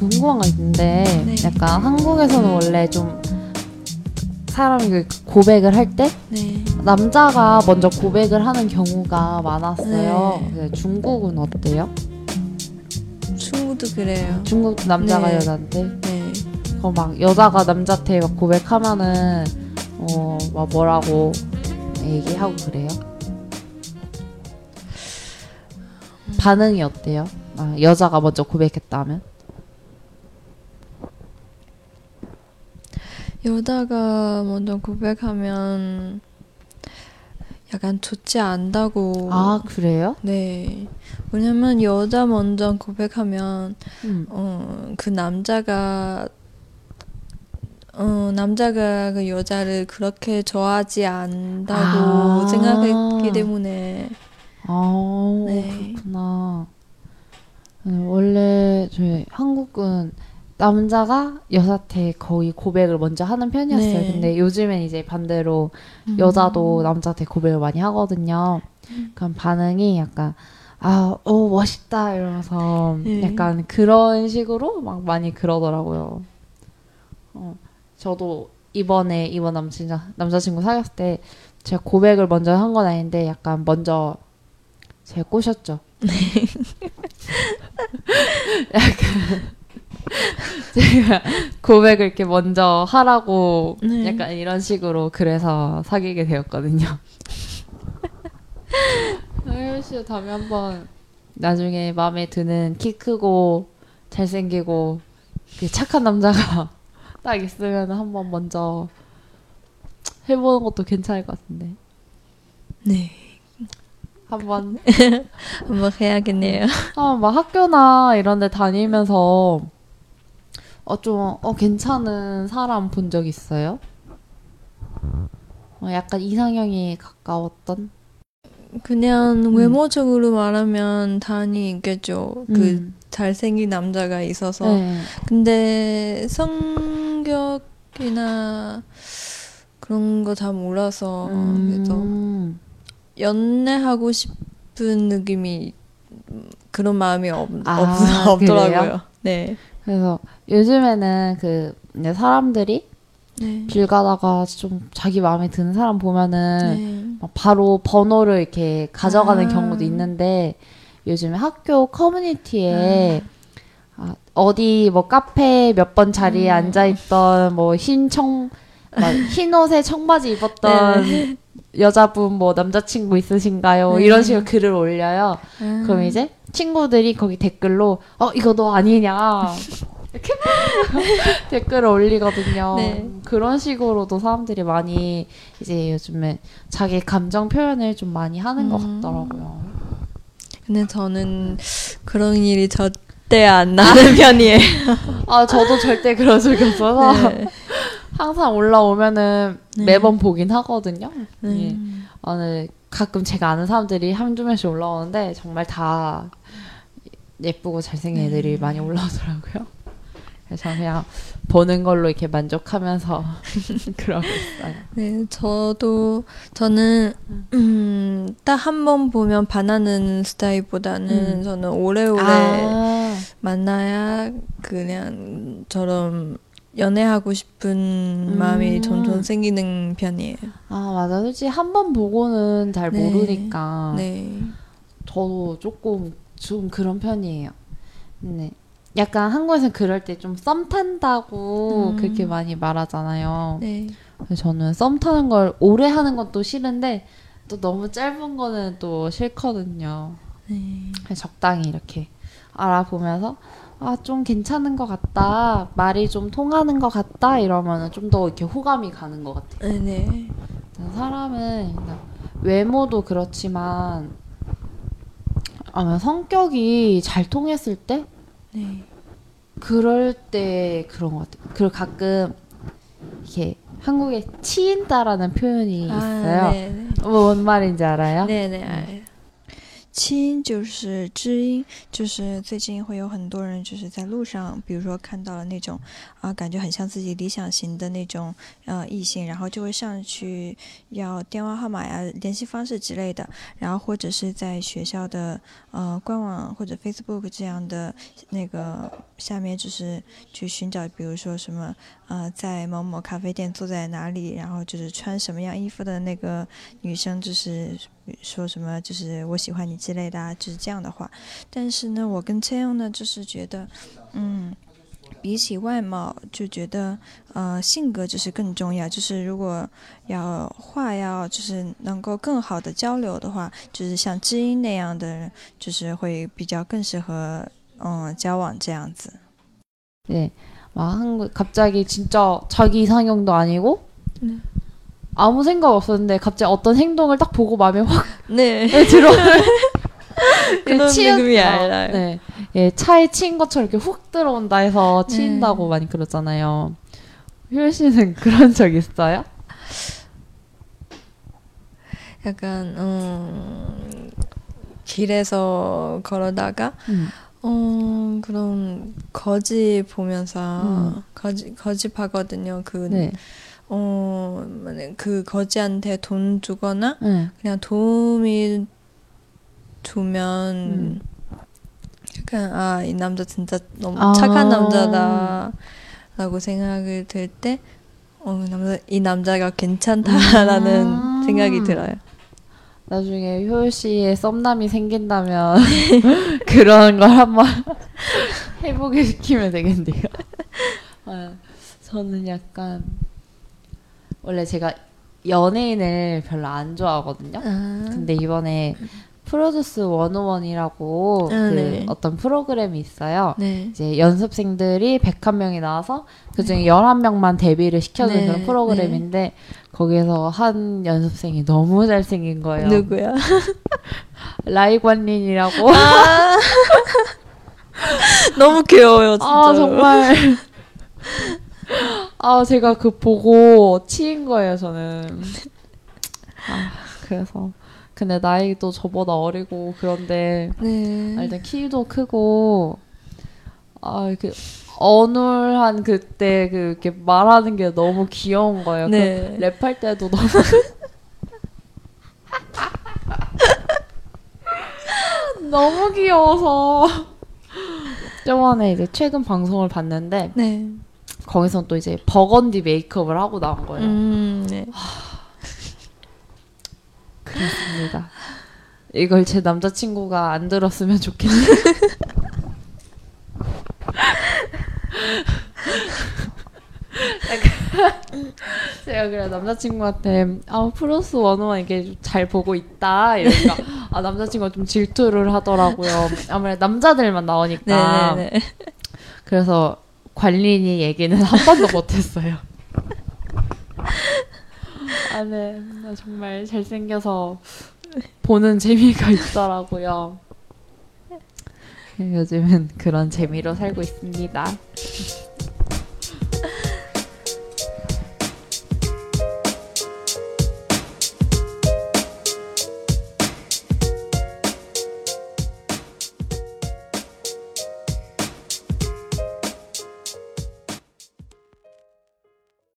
궁금한 거 있는데 네. 약간 한국에서는 원래 좀 사람이 그 고백을 할 때 네. 남자가 먼저 고백을 하는 경우가 많았어요. 네. 근데 중국은 어때요? 친구도 그래요. 중국 남자가 네. 여자한테 네. 막 여자가 남자한테 막 고백하면은 막 뭐라고 얘기하고 그래요? 반응이 어때요? 여자가 먼저 고백했다 하면? 여자가 먼저 고백하면 약간 좋지 않다고. 아, 그래요? 네. 왜냐면 여자 먼저 고백하면 그 남자가 그 여자를 그렇게 좋아하지 않다고 생각했기 때문에. 네. 그렇구나. 원래 저희 한국은 남자가 여자한테 거의 고백을 먼저 하는 편이었어요. 네. 근데 요즘엔 이제 반대로 여자도 남자한테 고백을 많이 하거든요. 그럼 반응이 약간 멋있다 이러면서 네. 약간 그런 식으로 막 많이 그러더라고요. 저도 이번 남자친구 사귀었을 때 제가 고백을 먼저 한 건 아닌데 약간 먼저 제가 꼬셨죠. 약간 제가 고백을 이렇게 먼저 하라고 네. 약간 이런 식으로 그래서 사귀게 되었거든요. 혜연 씨 다음에 한번 나중에 마음에 드는 키 크고 잘생기고 착한 남자가 딱 있으면 한번 먼저 해보는 것도 괜찮을 것 같은데. 네. 한번 해야겠네요. 막 학교나 이런 데 다니면서 좀 괜찮은 사람 본 적 있어요? 약간 이상형이 가까웠던? 그냥 외모적으로 말하면 당연히 있겠죠. 그 잘생긴 남자가 있어서. 네. 근데 성격이나 그런 거 다 몰라서 그래서 연애하고 싶은 느낌이 그런 마음이 없더라고요. 네. 그래서 요즘에는 이제 사람들이 네. 길 가다가 좀 자기 마음에 드는 사람 보면은 네. 막 바로 번호를 이렇게 가져가는 경우도 있는데 요즘에 학교 커뮤니티에 어디 뭐 카페 몇 번 자리에 앉아있던 뭐 흰 옷에 청바지 입었던 네. 여자분 뭐 남자친구 있으신가요? 네. 이런 식으로 글을 올려요. 그럼 이제 친구들이 거기 댓글로 이거 너 아니냐 이렇게 댓글을 올리거든요. 네. 그런 식으로도 사람들이 많이 이제 요즘에 자기 감정 표현을 좀 많이 하는 것 같더라고요. 근데 저는 그런 일이 절대 안 나는 편이에요. 저도 절대 그런 적이 없어서 네. 항상 올라오면은 네. 매번 보긴 하거든요. 네. 예. 가끔 제가 아는 사람들이 한두 명씩 올라오는데 정말 다 예쁘고 잘생긴 애들이 많이 올라오더라고요. 그래서 저는 그냥 보는 걸로 이렇게 만족하면서 그러고 있어요. 네, 저는 딱 한 번 보면 반하는 스타일보다는 저는 오래오래 만나야 그냥 저런 연애하고 싶은 마음이 점점 생기는 편이에요. 맞아. 솔직히 한 번 보고는 잘 네. 모르니까. 네. 저도 좀 그런 편이에요. 네. 약간 한국에서는 그럴 때 좀 썸 탄다고 그렇게 많이 말하잖아요. 네. 그래서 저는 썸 타는 걸 오래 하는 것도 싫은데 또 너무 짧은 거는 또 싫거든요. 네. 그래서 적당히 이렇게 알아보면서 좀 괜찮은 것 같다, 말이 좀 통하는 것 같다 이러면은 좀 더 이렇게 호감이 가는 것 같아요. 네. 사람은 외모도 그렇지만 성격이 잘 통했을 때 네. 그럴 때 그런 것 같아요. 그리고 가끔 이렇게 한국에 치인다라는 표현이 있어요. 네. 뭔 말인지 알아요? 네네. 알아요. 亲就是知音，就是最近会有很多人就是在路上，比如说看到了那种感觉很像自己理想型的那种异性，然后就会上去要电话号码呀、联系方式之类的，然后或者是在学校的官网或者 Facebook 这样的那个下面，就是去寻找，比如说什么在某某咖啡店坐在哪里，然后就是穿什么样衣服的那个女生，就是说什么就是我喜欢你之类的啊，就是这样的话。但是呢，我跟채영呢就是觉得比起外貌就觉得性格就是更重要，就是如果要就是能够更好的交流的话，就是像知音那样的人就是会比较更适合交往这样子。 네. 막 갑자기 진짜 자기 이상형도 아니고 네. 아무 생각 없었는데 갑자기 어떤 행동을 딱 보고 마음에 확 네. 들어. 그런 느낌이 알아요. 네. 예, 차에 치인 것처럼 이렇게 훅 들어온다 해서 치인다고 많이 그러잖아요. 효연 씨는 그런 적 있어요? 약간 길에서 걸어다가 그런 거지 보면서 거짓하거든요. 네. 그 거지한테 돈 주거나 그냥 도움이 주면 약간 이 남자 진짜 너무 착한 남자다라고 생각을 들 때 이 남자가 괜찮다라는 생각이 들어요. 나중에 효연 씨의 썸남이 생긴다면 그런 걸 한번 해보게 시키면 되겠네요. 저는 약간 원래 제가 연예인을 별로 안 좋아하거든요. 근데 이번에 프로듀스 101이라고 네. 어떤 프로그램이 있어요. 네. 이제 연습생들이 101명이 나와서 그중에 11명만 데뷔를 시켜주는 그런 프로그램인데 거기서 한 연습생이 너무 잘생긴 거예요. 누구야? 라이관린이라고. 너무 귀여워요, 진짜. 정말. 제가 그 보고 치인 거예요, 저는. 그래서. 근데 나이도 저보다 어리고 그런데 일단 키도 크고 이렇게 어눌한 그때 이렇게 말하는 게 너무 귀여운 거예요. 네. 랩할 때도 너무 너무 귀여워서 저번에 이제 최근 방송을 봤는데 거기서 또 이제 버건디 메이크업을 하고 나온 거예요. 네. 그렇습니다. 이걸 제 남자친구가 안 들었으면 좋겠네요. 제가 그래 남자친구한테 프로듀스 101 이게 잘 보고 있다 이러니까 남자친구가 좀 질투를 하더라고요. 아무래도 남자들만 나오니까. 네네네. 그래서 관린이 얘기는 한 번도 못했어요. 네. 정말 잘생겨서 보는 재미가 있더라고요. 요즘은 그런 재미로 살고 있습니다.